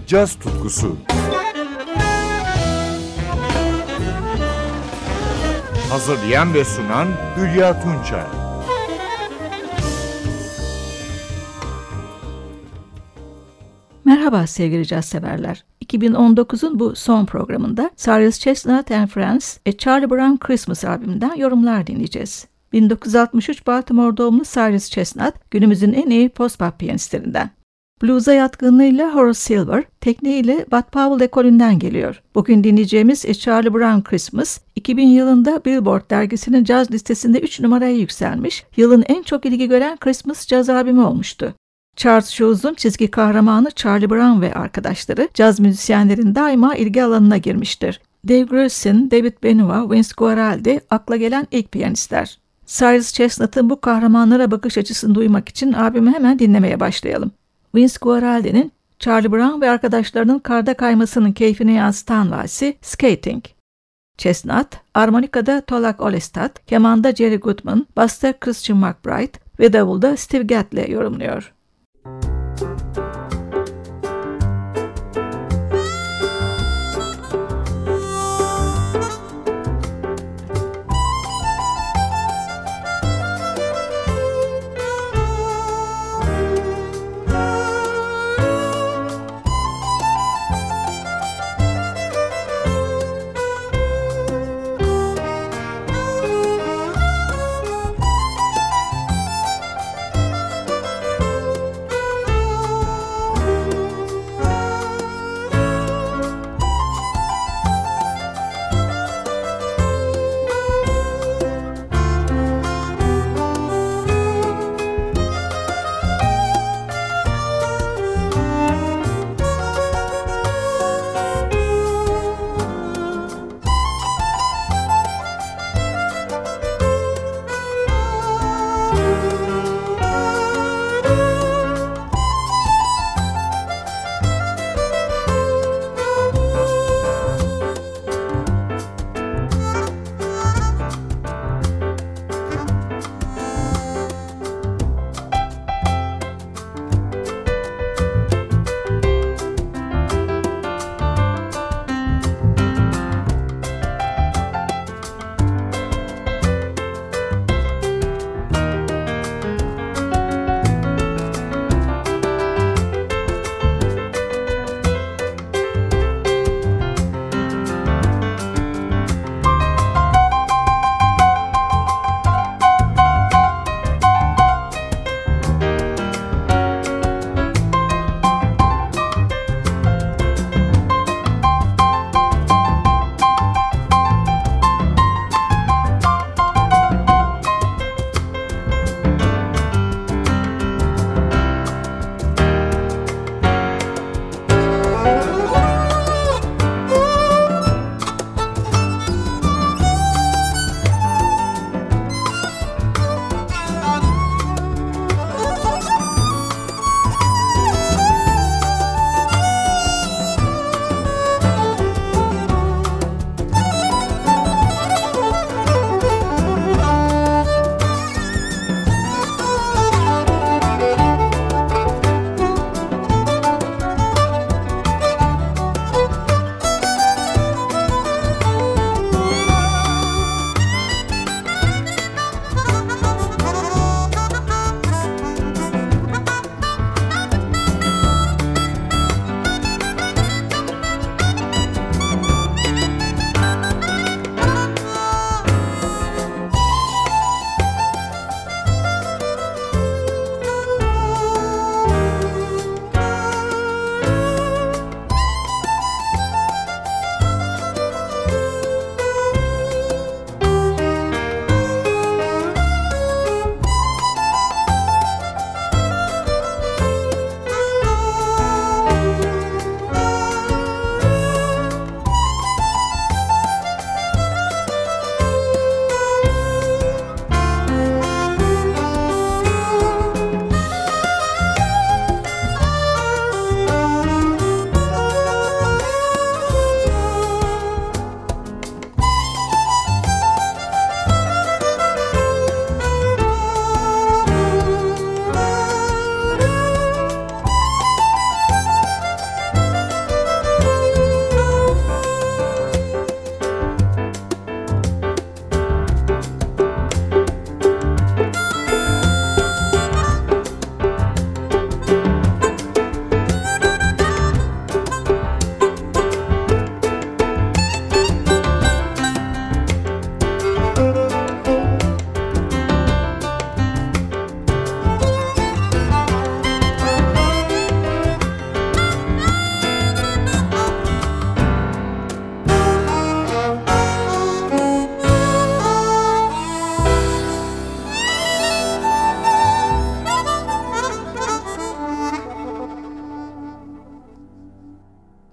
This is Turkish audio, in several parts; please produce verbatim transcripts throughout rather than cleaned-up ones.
caz tutkusu. Hazırlayan ve sunan Hülya Tunçay. Merhaba sevgili caz severler. iki bin on dokuzun bu son programında Cyrus Chestnut and Friends A Charlie Brown Christmas albümünden yorumlar dinleyeceğiz. bin dokuz yüz altmış üç Baltimore doğumlu Cyrus Chestnut, günümüzün en iyi post-bop piyanistlerinden. Blues'a yatkınlığıyla Horace Silver, tekniğiyle Bud Powell ekolünden geliyor. Bugün dinleyeceğimiz A Charlie Brown Christmas, iki bin yılında Billboard dergisinin caz listesinde üç numaraya yükselmiş, yılın en çok ilgi gören Christmas caz albümü olmuştu. Charles Schuh'un çizgi kahramanı Charlie Brown ve arkadaşları caz müzisyenlerin daima ilgi alanına girmiştir. Dave Grusin, David Benoit, Vince Guaraldi akla gelen ilk piyanistler. Cyrus Chestnut'ın bu kahramanlara bakış açısını duymak için albümü hemen dinlemeye başlayalım. Vince Guaraldi'nin Charlie Brown ve arkadaşlarının karda kaymasının keyfini yansıtan valsi Skating. Chestnut, armonikada Tolak Olestad, kemanda Jerry Goodman, basta Christian McBride ve davulda Steve Gadd'le yorumluyor.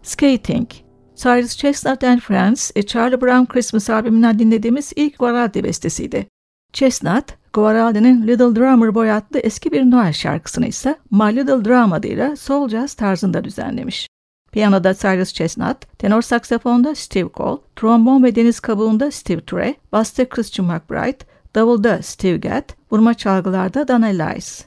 Skating. Cyrus Chestnut and Friends, Charlie Brown Christmas albümünden dinlediğimiz ilk Guaraldi bestesiydi. Chestnut, Guaraldi'nin Little Drummer Boy adlı eski bir Noel şarkısını ise My Little Drum adıyla soul jazz tarzında düzenlemiş. Piyanoda Cyrus Chestnut, tenor saksafonda Steve Cole, trombon ve deniz kabuğunda Steve Turre, basta Christian McBride, davulda Steve Gadd, vurma çalgılarda Don Ellis.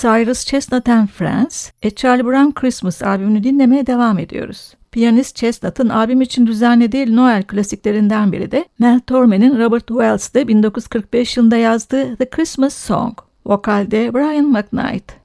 Cyrus Chestnut and Friends, A Charlie Brown Christmas albümünü dinlemeye devam ediyoruz. Piyanist Chestnut'ın albüm için düzenlediği Noel klasiklerinden biri de Mel Torme'nin Robert Wells'de bin dokuz yüz kırk beş yılında yazdığı The Christmas Song. Vokalde Brian McKnight.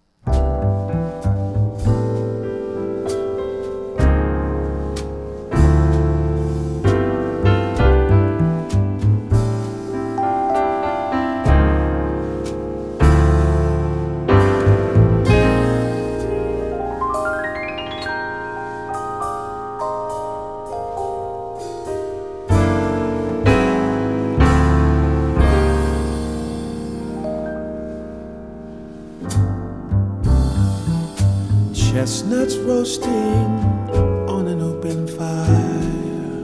Chestnuts roasting on an open fire,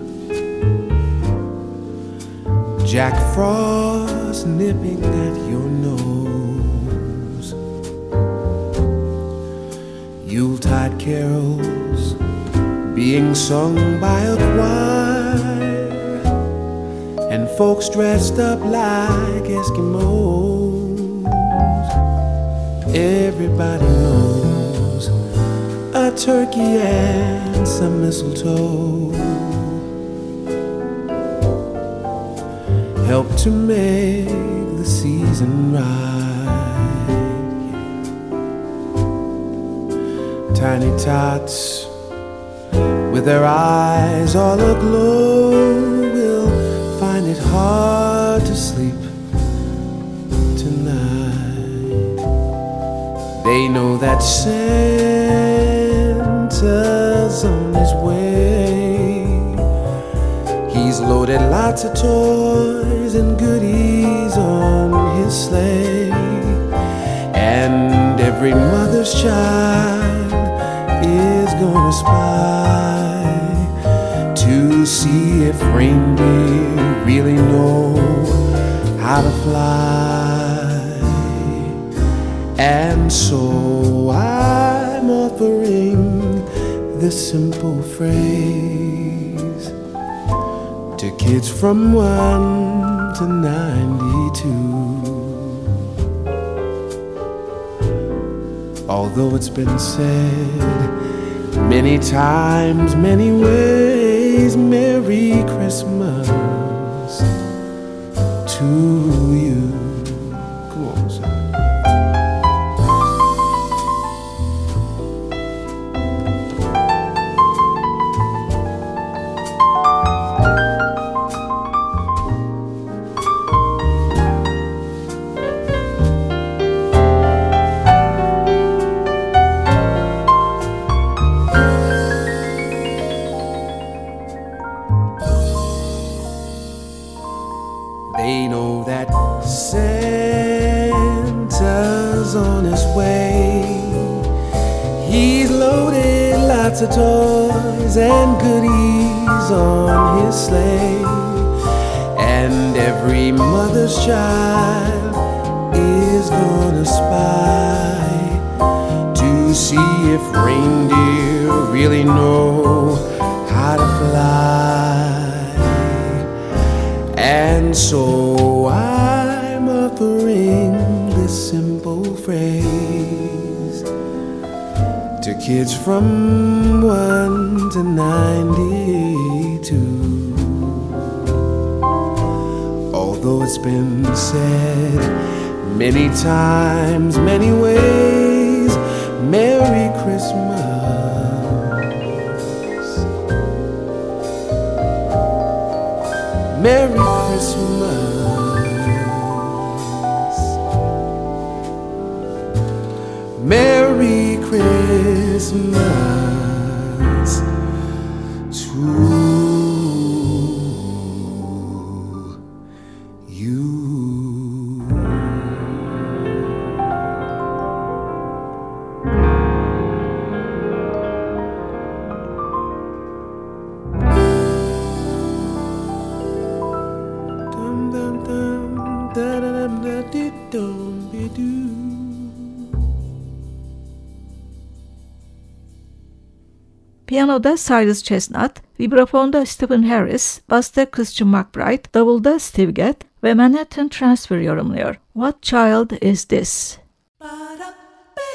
Jack Frost nipping at your nose, Yuletide carols being sung by a choir, and folks dressed up like Eskimos. Everybody knows a turkey and some mistletoe help to make the season right. Tiny tots with their eyes all aglow will find it hard to sleep tonight. They know that Santa's on his way. He's loaded lots of toys and goodies on his sleigh, and every mother's child is gonna spy to see if reindeer really know how to fly. And so I'm offering this simple phrase to kids from one to ninety-two. Although it's been said many times, many ways, Merry Christmas to you. Come on, son. They know that Santa's on his way. He's loaded lots of toys and goodies on his sleigh, and every mother's child is gonna spy to see if reindeer really know how to fly. And so I'm offering this simple phrase to kids from one to ninety-two. Although it's been said many times, many ways, Merry Christmas. Merry Christmas, Merry Christmas to you. Piyanoda Cyrus Chestnut, vibrafonda Stephen Harris, basta Christian McBride, davulda Steve Gadd ve Manhattan Transfer yorumluyor. What Child Is This? Ba-da-ba.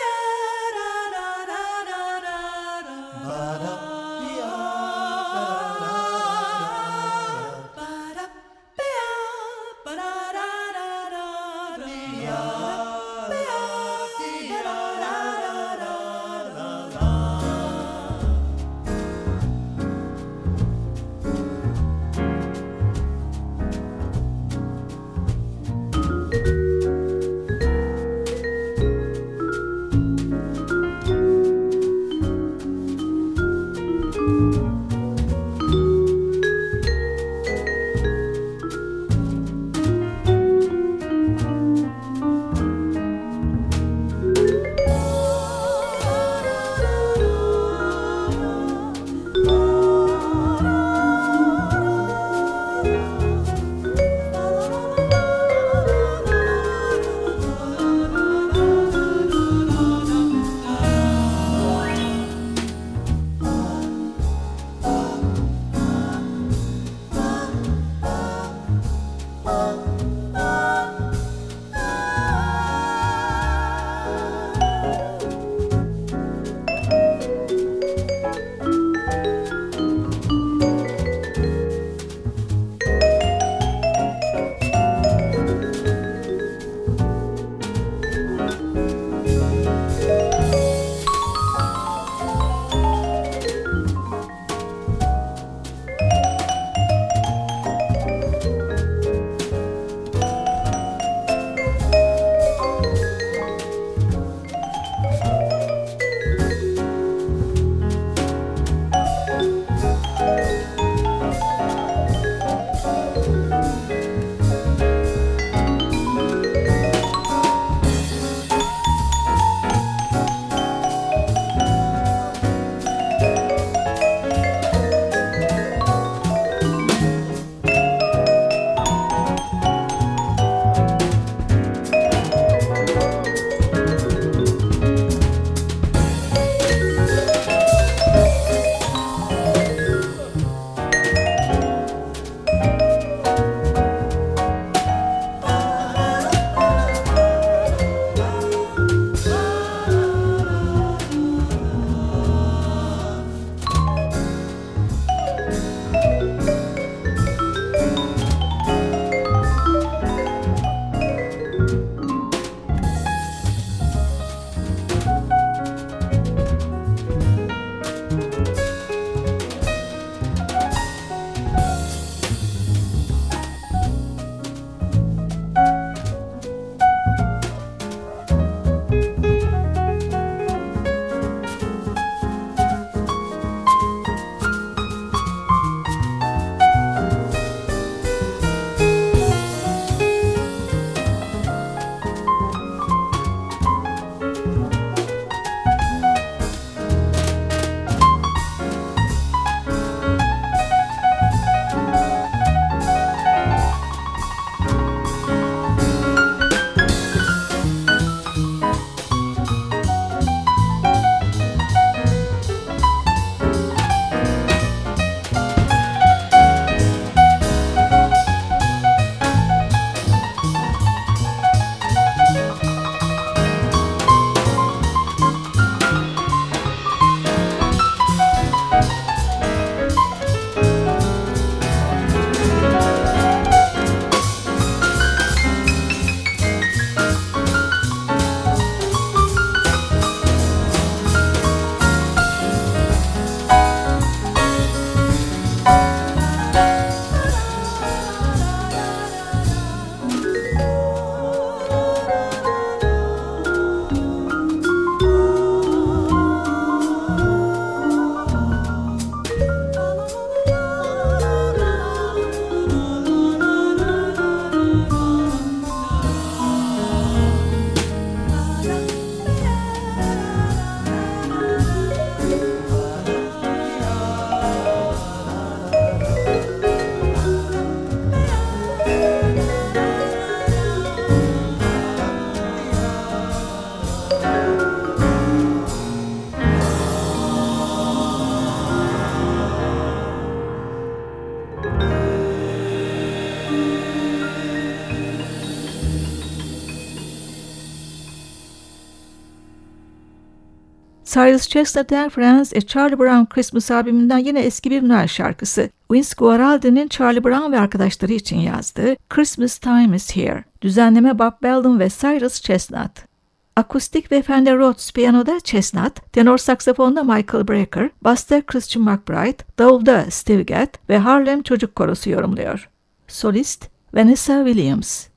Cyrus Chestnut and Friends, A Charlie Brown Christmas albümünden yine eski bir Noel şarkısı. Vince Guaraldi'nin Charlie Brown ve arkadaşları için yazdığı Christmas Time is Here. Düzenleme Bob Belden ve Cyrus Chestnut. Akustik ve Fender Rhodes piyanoda Chestnut, tenor saksafonda Michael Brecker, basta Christian McBride, davulda Steve Gadd ve Harlem Çocuk Korosu yorumluyor. Solist Vanessa Williams.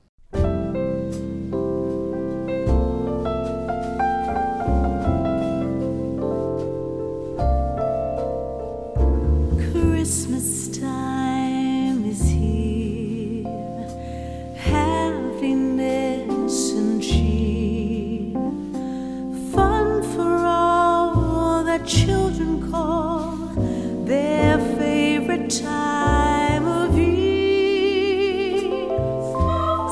Christmas time is here, happiness and cheer, fun for all that children call their favorite time of year.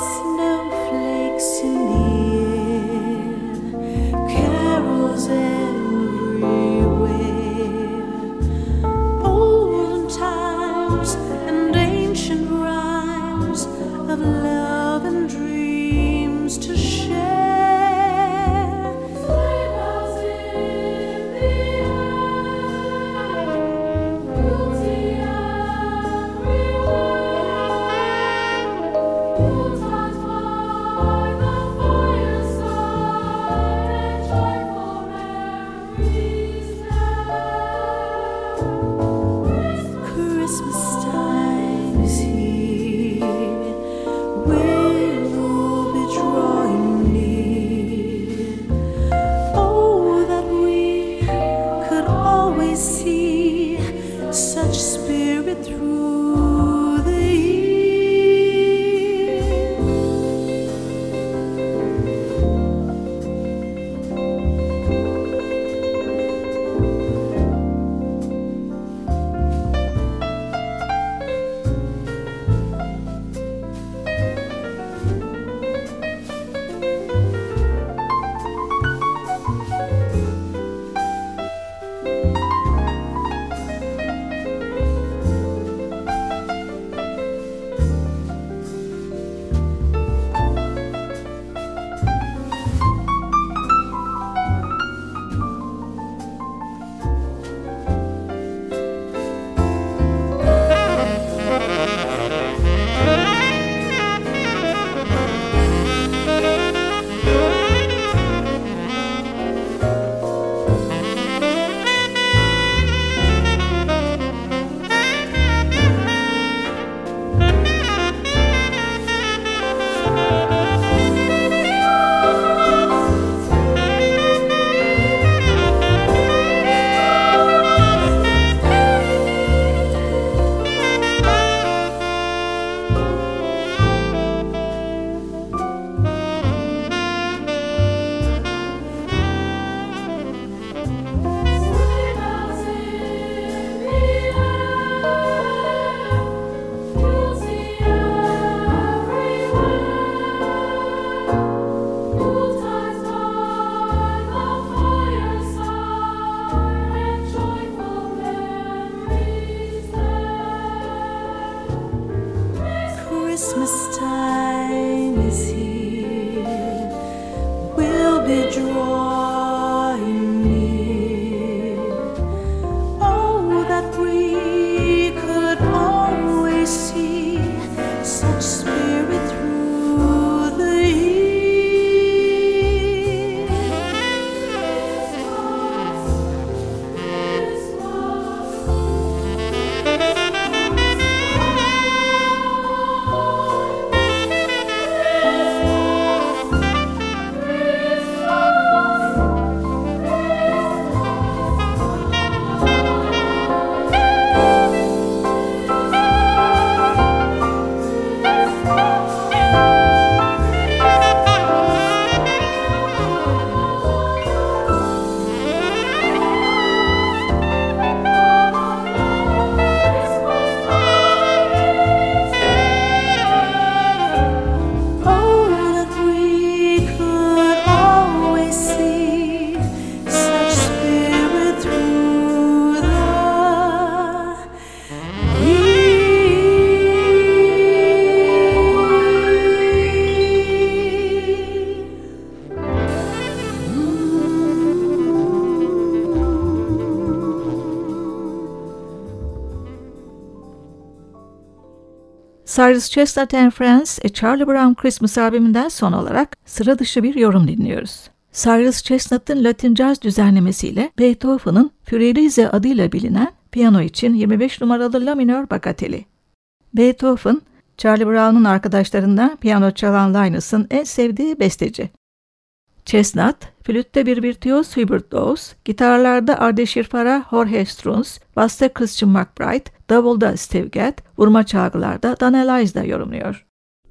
Cyrus Chestnut and Friends, A Charlie Brown Christmas albümünden son olarak sıra dışı bir yorum dinliyoruz. Cyrus Chestnut'ın Latin Jazz düzenlemesiyle Beethoven'ın Fiordilise adıyla bilinen piyano için yirmi beş numaralı La minör bagateli. Beethoven, Charlie Brown'un arkadaşlarından piyano çalan Linus'ın en sevdiği besteci. Chestnut, flütte bir virtüöz Hubert Laws, gitarlarda Ardeshir Farah, Jorge Strunz, basta Christian McBride, davulda Steve Gadd, vurma çalgılarda Dan Elias'da yorumluyor.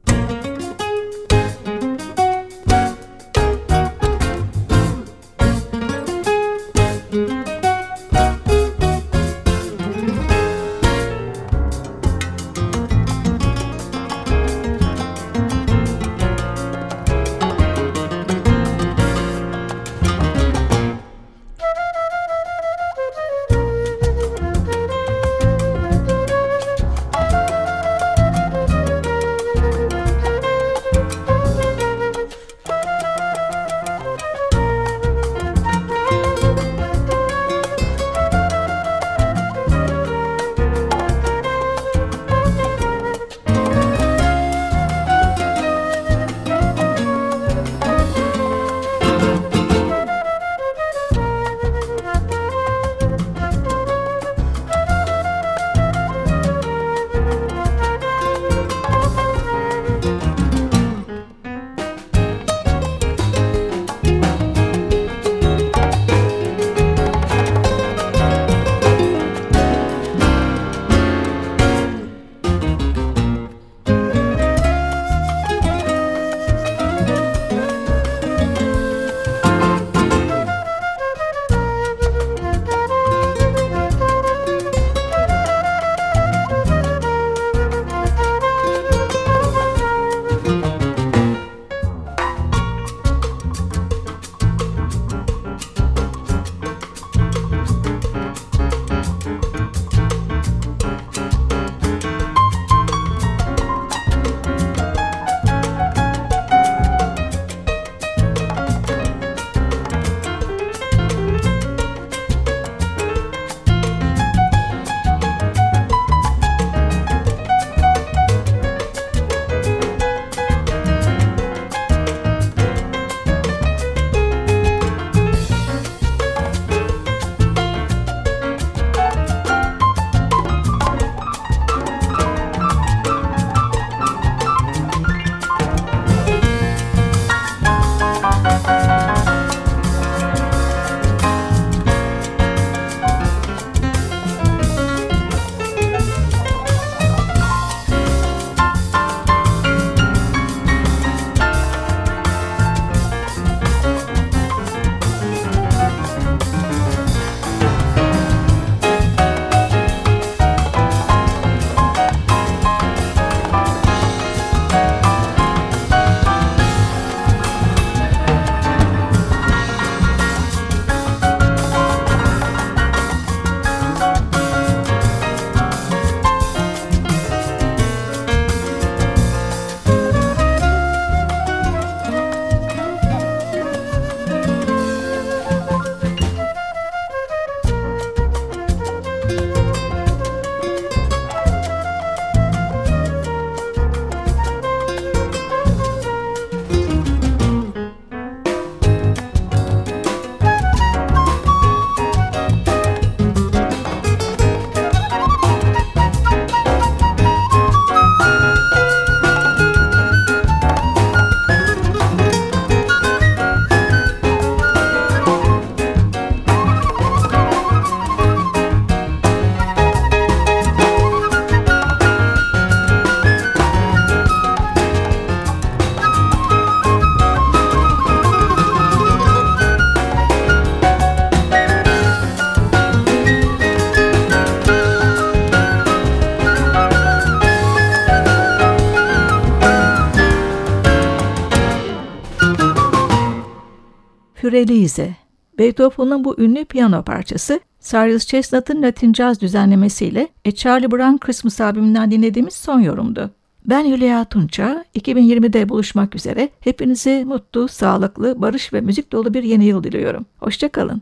Fiordilise. Beethoven'ın bu ünlü piyano parçası, Cyrus Chestnut'ın Latin Jazz düzenlemesiyle A Charlie Brown Christmas albümünden dinlediğimiz son yorumdu. Ben Hülya Tunça, iki bin yirmide buluşmak üzere hepinize mutlu, sağlıklı, barış ve müzik dolu bir yeni yıl diliyorum. Hoşça kalın.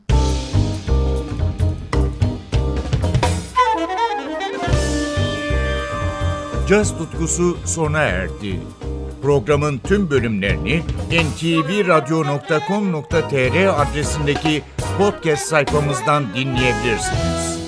caz tutkusu sona erdi. Programın tüm bölümlerini en te ve radyo nokta com nokta te er adresindeki podcast sayfamızdan dinleyebilirsiniz.